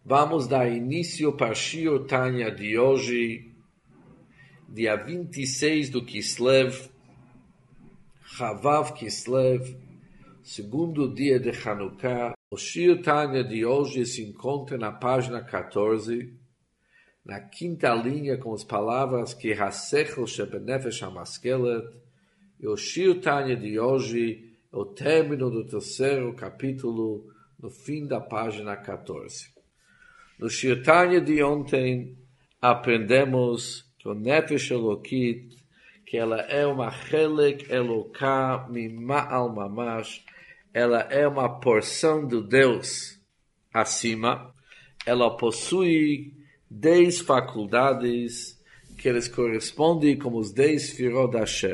Vamos dar início para Shiur Tanya de hoje, dia 26 do Kislev, Chavav Kislev, segundo dia de Hanukkah. O Shiur Tanya de hoje se encontra na página 14, na quinta linha, com as palavras que Hasechel Shebenefesh Hamaskelet, e o Shiur Tanya de hoje é o término do terceiro capítulo, no fim da página 14. No Shiur Tanya de ontem, aprendemos que o Nefesh Elokit, que ela é uma Chelek Eloká Mima'al Mamash, ela é uma porção do Deus acima, ela possui 10 faculdades que eles correspondem como os 10 Sfirot Hashem.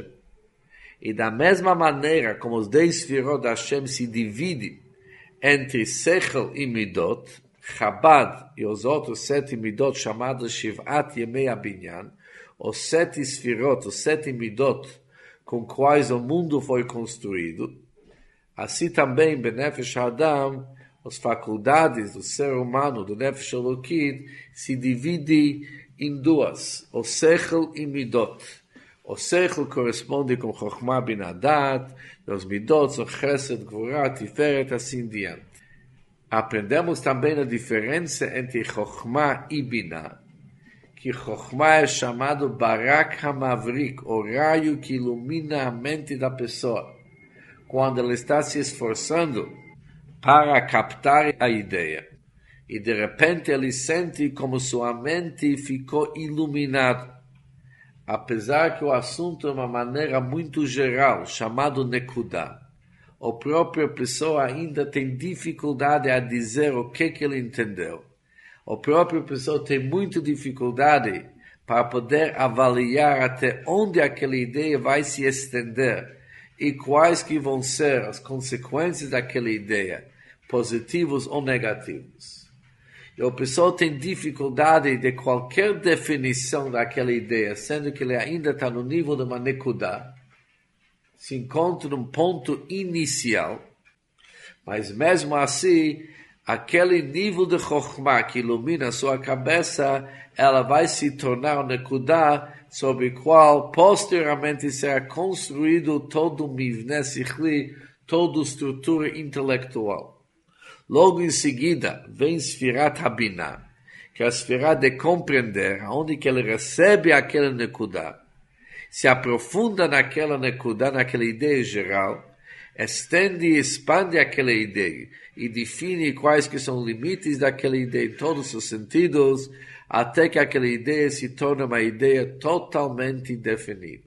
E da mesma maneira como os 10 Sfirot Hashem se dividem entre Sechel e Midot, Chabad e os outros 7 Midot chamados Shivat Yemei Abinyan, os 7 Sfirot, os 7 Midot com quais o mundo foi construído, assim também Benefesh Adam, as faculdades do ser humano, do Nefesh Elokit, se dividem em duas, o Sechel e Midot. O Sechel corresponde com Chokhmah Bina Dat, e os Midot são Chesed, Gvurah, Tiferet, assim diante. Aprendemos também a diferença entre Chokhmah e Binah, que Chokhmah é chamado Barak HaMavrik, o raio que ilumina a mente da pessoa, quando ela está se esforçando para captar a ideia. E de repente ele sente como sua mente ficou iluminada. Apesar que o assunto é uma maneira muito geral, chamado Nekudah, a própria pessoa ainda tem dificuldade a dizer o que ele entendeu. A própria pessoa tem muita dificuldade para poder avaliar até onde aquela ideia vai se estender e quais que vão ser as consequências daquela ideia, positivos ou negativos. E a pessoa tem dificuldade de qualquer definição daquela ideia, sendo que ele ainda está no nível de uma nekudah, se encontra num ponto inicial, mas mesmo assim, aquele nível de Chokhmah que ilumina a sua cabeça, ela vai se tornar um nekudah sobre o qual posteriormente será construído todo o mivne sichli, toda a estrutura intelectual. Logo em seguida, vem Sfirat Habinah, que é a Sfirat de compreender, onde que ele recebe aquela nekudah, se aprofunda naquela nekudah, naquela ideia geral, estende e expande aquela ideia, e define quais que são os limites daquela ideia em todos os sentidos, até que aquela ideia se torne uma ideia totalmente definida.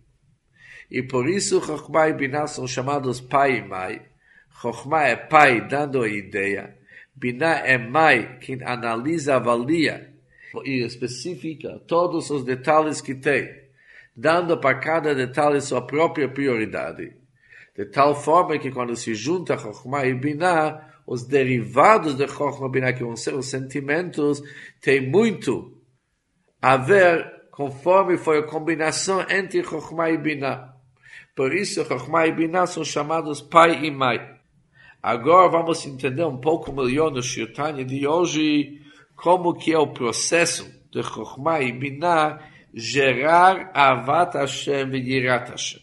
E por isso, Chokhmah e Binah são chamados pai e mãe. Chokhmah é pai, dando a ideia. Binah é mãe, quem analisa, avalia e especifica todos os detalhes que tem, dando para cada detalhe sua própria prioridade. De tal forma que quando se junta Chokhmah e Binah, os derivados de Chokhmah e Binah, que vão ser os sentimentos, tem muito a ver conforme foi a combinação entre Chokhmah e Binah. Por isso, Chokhmah e Binah são chamados pai e mãe. Agora vamos entender um pouco melhor no Shiur Tanya de hoje como que é o processo de Chokhmah e Binah gerar Avat Hashem e Yirat Hashem,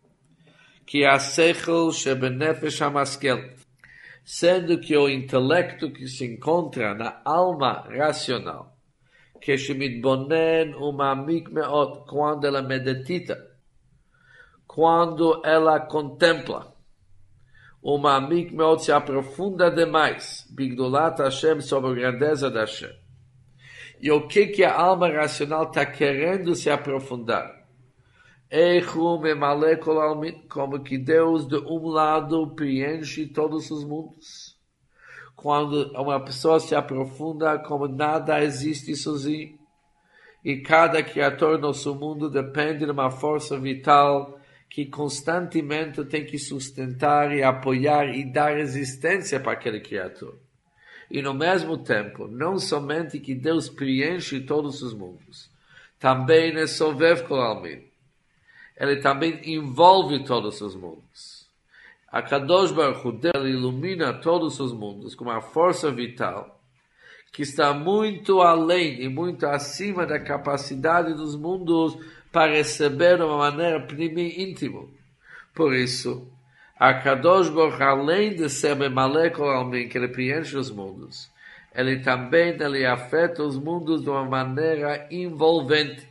que é a Sechel Shebenefesh Hamaskelet, sendo que o intelecto que se encontra na alma racional, que Shemitbonen Umamik Meot, quando ela medita, quando ela contempla, Umamik Meot se aprofunda demais, Bigdolat Hashem, sobre a grandeza de Hashem. E o que a alma racional está querendo se aprofundar? Como que Deus de um lado preenche todos os mundos. Quando uma pessoa se aprofunda como nada existe sozinho, e cada criatura no nosso mundo depende de uma força vital que constantemente tem que sustentar e apoiar e dar resistência para aquela criatura. E no mesmo tempo, não somente que Deus preenche todos os mundos, também é Sovev Kol Almin. Ele também envolve todos os mundos. A Kadosh Baruch Hu, ele ilumina todos os mundos com uma força vital que está muito além e muito acima da capacidade dos mundos para receber de uma maneira primi íntima. Por isso, a Kadosh Baruch, além de ser Memalé Kol Almin, que ele preenche os mundos, ele também afeta os mundos de uma maneira envolvente.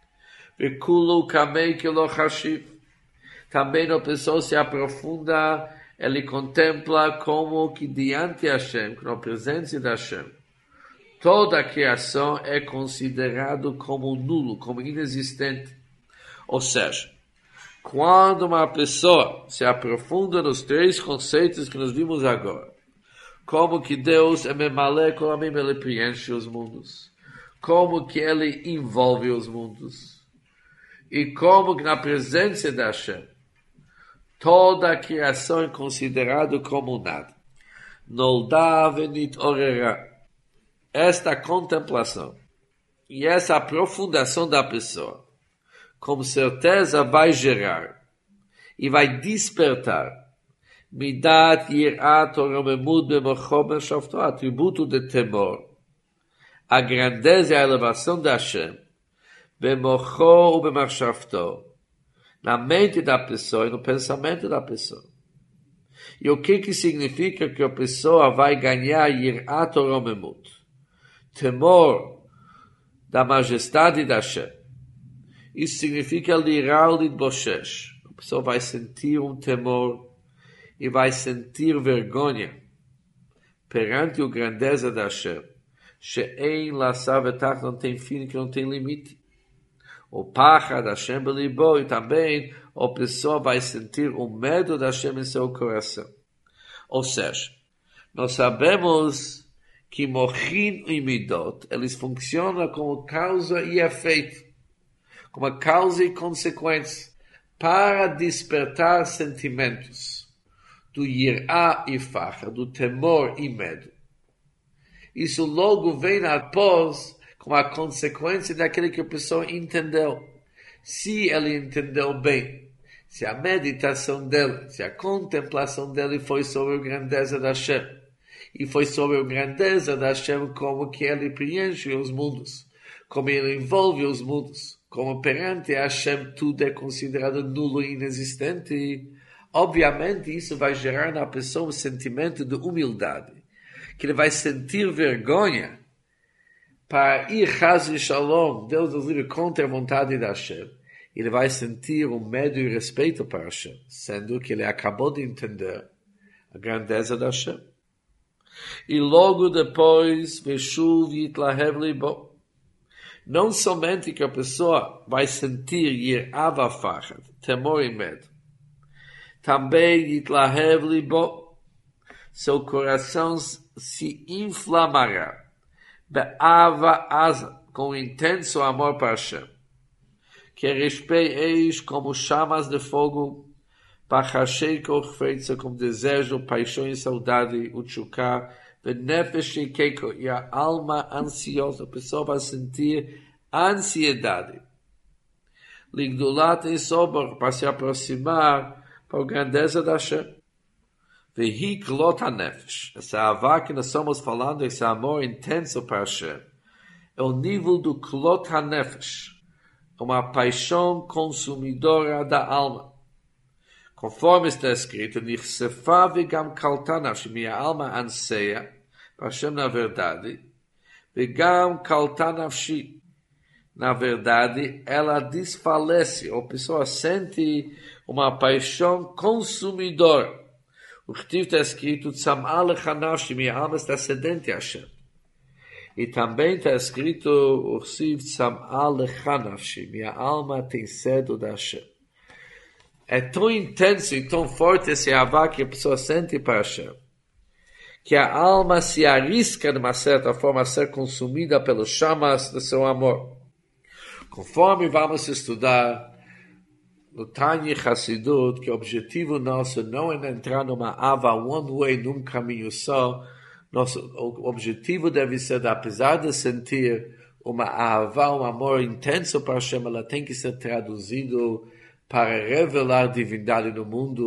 Vekulu kamei kilo chashiv. Também a pessoa se aprofunda, ele contempla como que diante de Hashem, na presença de Hashem, toda a criação é considerado como nulo, como inexistente. Ou seja, quando uma pessoa se aprofunda nos três conceitos que nós vimos agora, como que Deus é Memalé Kol Almin, ele preenche os mundos, como que ele envolve os mundos, e como que na presença de Hashem, toda a criação é considerada como nada. Nolda venit orera. Esta contemplação e essa aprofundação da pessoa, com certeza vai gerar e vai despertar midat yirat oromemut bemocho b'shafto, atributo de temor, a grandeza e a elevação de Hashem, bemocho u b'machshavto, na mente da pessoa e no pensamento da pessoa. E o que significa que a pessoa vai ganhar yirat oromemut? Temor da majestade da Hashem. Isso significa lirar lidboshesh. A pessoa vai sentir um temor e vai sentir vergonha perante a grandeza da Hashem. She'ein lassar vetach, não tem fim, que não tem limite. O pachad Hashem belibo, e também a pessoa vai sentir o medo da Hashem em seu coração. Ou seja, nós sabemos que mochin e midot, eles funcionam como causa e efeito, como causa e consequência, para despertar sentimentos do yirá e facha, do temor e medo. Isso logo vem após como a consequência daquilo que a pessoa entendeu. Se ele entendeu bem, se a meditação dele, se a contemplação dele foi sobre a grandeza da Hashem, e foi sobre a grandeza da Hashem, como que ele preenche os mundos, como ele envolve os mundos, como perante a Hashem tudo é considerado nulo e inexistente. E, obviamente, isso vai gerar na pessoa um sentimento de humildade, que ele vai sentir vergonha para ir Chaz e Shalom, Deus nos livre, contra a vontade da Hashem. Ele vai sentir um medo e respeito para Hashem, sendo que ele acabou de entender a grandeza da Hashem. E logo depois, Veshuv Yitlahev Libo. Não somente que a pessoa vai sentir Yirava Fachad, temor e medo. Também Yitlahev Libo. Seu coração se inflamará. Be'ava Asa, com intenso amor para Hashem. Que respeiteis como chamas de fogo, Pachashei Korfeitza, como desejo, paixão e saudade, o tchuká, Benefesh Keiko, e a alma ansiosa, a pessoa vai sentir ansiedade. Ligdulat e Sobor, para se aproximar para a grandeza da Hashem. Vehi Klot HaNefesh, essa avá que nós estamos falando, esse amor intenso para Hashem, é o nível do Klot HaNefesh, uma paixão consumidora da alma. Conforme está escrito, Nirsefa vegam kalta nafshi, minha alma anseia, para Hashem na verdade, vegam kalta nafshi, na verdade, ela desfalece, a pessoa sente uma paixão consumidora. O que está escrito, Tzam'a lecha nafshi, minha alma está sedente a Hashem. E também está escrito, Ursiv Tzam'a lecha nafshi, minha alma tem sede da Hashem. É tão intenso e tão forte esse avá que a pessoa sente para Hashem, que a alma se arrisca de uma certa forma a ser consumida pelos chamas do seu amor. Conforme vamos estudar no Tanya Hassidut, que o objetivo nosso não é entrar numa ava one way, num caminho só. O objetivo deve ser, apesar de sentir uma ava, um amor intenso para Hashem, ela tem que ser traduzido para revelar divindade no mundo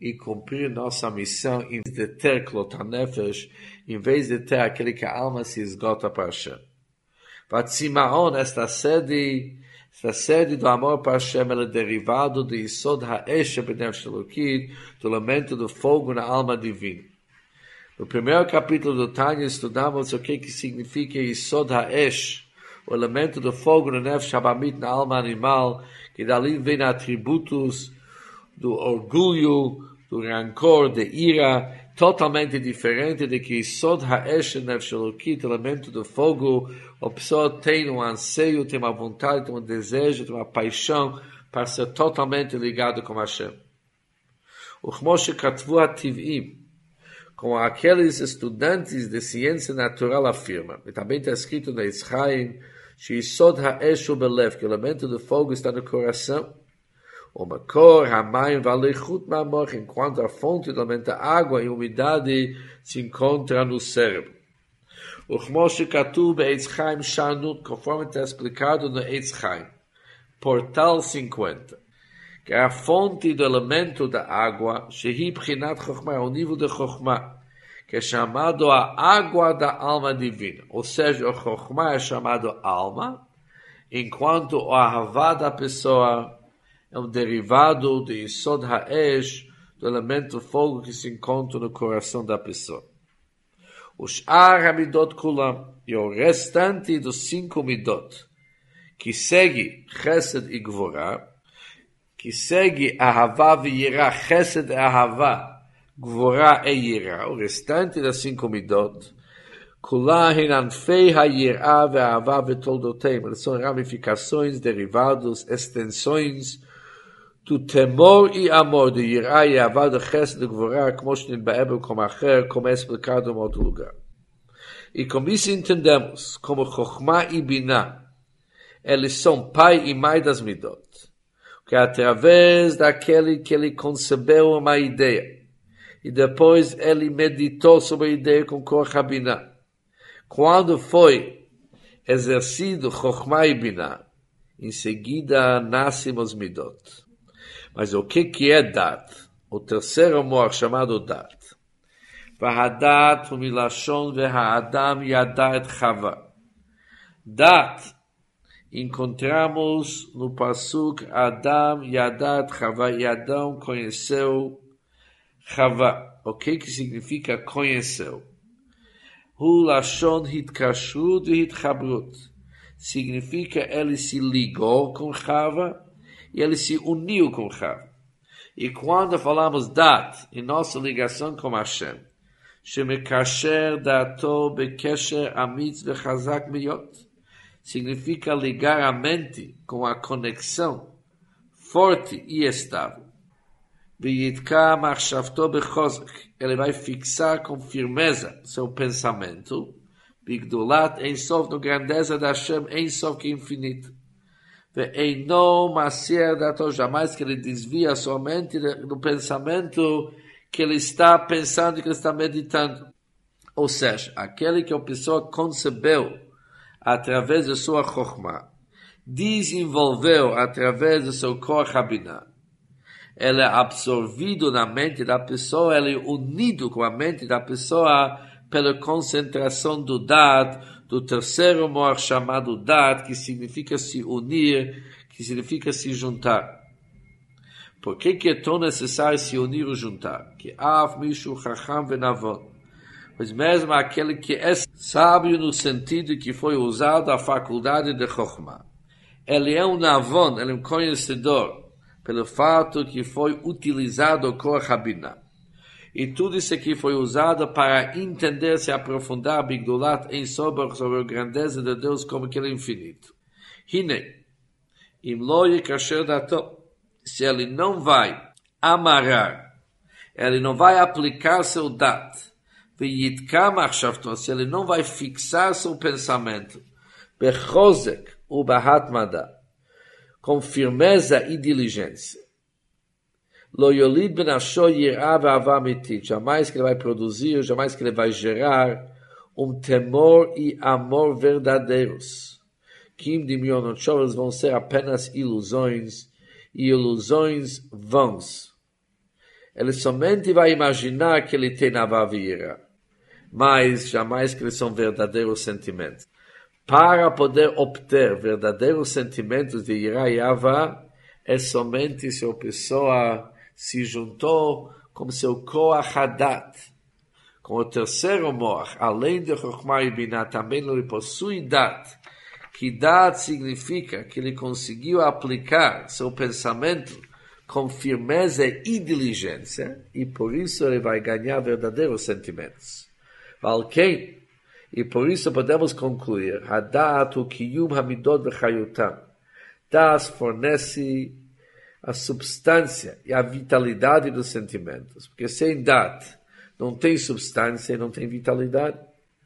e cumprir nossa missão em vez de ter Klotanefesh, em vez de ter aquele que a alma se esgota para Hashem. Vatzimaon, esta sede do amor para Hashem, ela é derivado do Yisod Ha'esh B'nefesh Elokit, do elemento do fogo na alma divina. No primeiro capítulo do Tanya estudamos o que significa Yisod Ha'esh, o elemento do fogo no Nefesh Habamit, na alma animal, que dali vem atributos do orgulho, do rancor, de ira, totalmente diferente de que Yisod Ha'esh Nefesh Elokit, elemento do fogo, a pessoa tem um anseio, tem uma vontade, tem um desejo, tem uma paixão para ser totalmente ligado com Hashem. O Moshe Katvu HaTiv'im, como aqueles estudantes de ciência natural afirmam, e também está escrito na Yitzchaim, Yisod Ha'esh Belev, que o elemento do fogo está no coração, o Makor, Hamayim, Valechut Ma'amor, enquanto a fonte do elemento da água e umidade se encontra no cérebro. O Moshe Katuv Eitz Chaim Shanut, conforme está explicado no Eitz Chaim, portal 50, que é a fonte do elemento da água, Shehi Pchinat Chokhmah, o nível de Chokhmah, que é chamado a água da alma divina. Ou seja, o Chokhmah é chamado alma, enquanto o Ahavá da pessoa é um derivado de Yisod Ha'esh, do elemento fogo que se encontra no coração da pessoa. O Sh'ar HaMidot Kulam, e o restante dos 5 Midot, que segue Chesed e Gvorah, que segue Ahavá e Yirah, Chesed e Ahavá, Gvorah e Yirah, o restante das 5 Midot, Kulah Hinanfei HaYirah e Ahavá Vetoldoteim, eles são ramificações, derivados, extensões do temor e amor de Yirah e Ahavá de Chesed e Gvorah, como Shnitbaebel, como é explicado em outro lugar. E com isso entendemos como Chokhmah e Binah, eles são pai e mãe das Midot, que através daquele que ele concebeu uma ideia, e depois ele meditou sobre a ideia com Koach HaBinah. Quando foi exercido Chokhmah e Binah, em seguida nascem os Midot. Mas o que é Dat? O terceiro amor chamado Dat. Vahadat umilashon veha'adam yada et Chava. Dat encontramos no Pasuk Adam Yadat Chava, e Adão conheceu Chava. O que significa conheceu? Hu Lashon Hitkashrut e Hitchabrut. Significa ele se ligou com Chava e ele se uniu com Chava. E quando falamos Dat, em nossa ligação com Hashem, Shemekasher Dato Bekesher Amitz Vechazak Miyot, significa ligar a mente com a conexão forte e estável. Viyitka machshavto bechozek, ele vai fixar com firmeza seu pensamento, bigdulat Ein Sof, no grandeza da Hashem Ein Sof, que é infinito. Ve'eino masir dato, jamais que ele desvia sua mente do pensamento que ele está pensando, que ele está meditando. Ou seja, aquele que a pessoa concebeu através de sua Chokhmah, desenvolveu através do seu Koach HaBinah, ele é absorvido na mente da pessoa, ele é unido com a mente da pessoa pela concentração do Dat, do terceiro amor chamado Dat, que significa se unir, que significa se juntar. Por que é tão necessário se unir ou juntar? Que Av Mishu Chacham Venavon, pois mesmo aquele que é sábio no sentido que foi usado a faculdade de Chokhmah, ele é um Navon, ele é um conhecedor, pelo fato que foi utilizado o Koach HaBinah. E tudo isso aqui foi usado para entender, se aprofundar, Bigdulat Ein Sof, sobre a grandeza de Deus como que ele é infinito. Hine, Im Lo Yikasher Dato, se ele não vai amarrar, ele não vai aplicar seu Dat, se ele não vai fixar seu pensamento, bechozek u bahatmada, com firmeza e diligência, lo yolid benasho yirah ve'ava amitit, jamais que ele vai produzir, jamais que ele vai gerar temor e amor verdadeiros. Kim dimionot shov, eles vão ser apenas ilusões, e ilusões vãs. ele somente vai imaginar que ele tem Avá e Ira, mas jamais que eles são verdadeiros sentimentos. Para poder obter verdadeiros sentimentos de Ira e Avá, é somente se a pessoa se juntou com seu Koach Hadat, com o terceiro Moach, além de Chokhmah e Binah, também ele possui Dat, que Dat significa que ele conseguiu aplicar seu pensamento com firmeza e diligência, e por isso ele vai ganhar verdadeiros sentimentos. Valquem, e por isso podemos concluir, Hadat o Kiyum Hamidot V'chayutam. Das fornece a substância e a vitalidade dos sentimentos, porque sem Dat não tem substância e não tem vitalidade.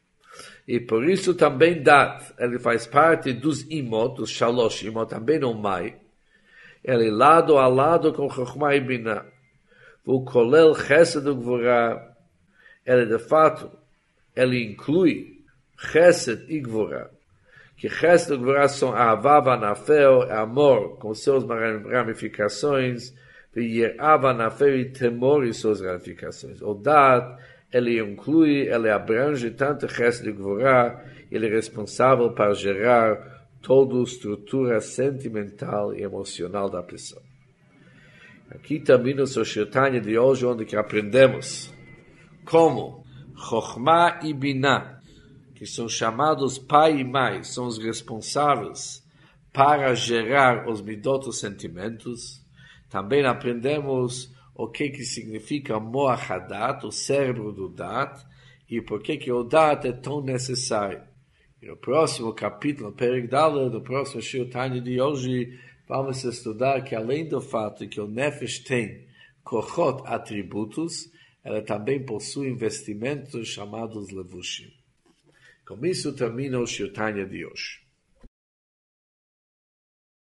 E por isso também Dat, ele faz parte dos imot, dos shalosh imot, também não mai. Ele lado a lado com Chokhmah e Binah. O kolel chesed e gvurah, ele de fato, ele inclui chesed e gvurah. Que chesed e gvurah são Ahava vanafel, amor com seus ramificações, e Yerah vanafel e temor e suas ramificações. O Dat, ele inclui, ele abrange tanto chesed e gvurah, ele é responsável para gerar toda a estrutura sentimental e emocional da pessoa. Aqui termina o seu Shir Tanya de hoje, onde que aprendemos como Chokhmah e Binah, que são chamados pai e mãe, são os responsáveis para gerar os midot, os sentimentos. Também aprendemos o que significa Moach Hadat, o cérebro do Dat, e por que o Dat é tão necessário. E no próximo capítulo, Perek Dalet, do próximo Shir Tanya de hoje, vamos estudar que além do fato que o Nefesh tem kochot, atributos, ela também possui investimentos chamados levushim. Com isso termina o Shir Tanya de hoje.